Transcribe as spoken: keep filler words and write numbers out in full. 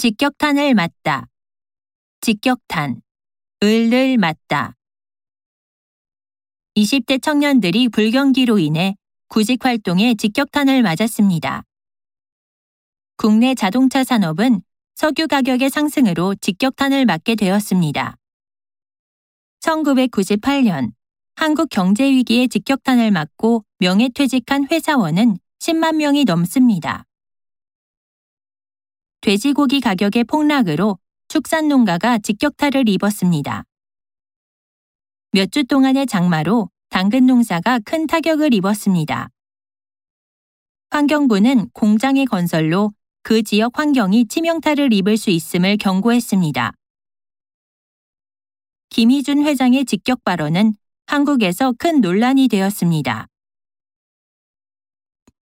직격탄을 맞다. 직격탄, 을을 맞다. 이십 대 청년들이 불경기로 인해 구직 활동에 직격탄을 맞았습니다. 국내 자동차 산업은 석유 가격의 상승으로 직격탄을 맞게 되었습니다. 천구백구십팔 년 한국 경제위기에 직격탄을 맞고 명예퇴직한 회사원은 십만 명이 넘습니다. 돼지고기 가격의 폭락으로 축산농가가 직격탄을 입었습니다. 몇 주 동안의 장마로 당근 농사가 큰 타격을 입었습니다. 환경부는 공장의 건설로 그 지역 환경이 치명타를 입을 수 있음을 경고했습니다. 김희준 회장의 직격 발언은 한국에서 큰 논란이 되었습니다.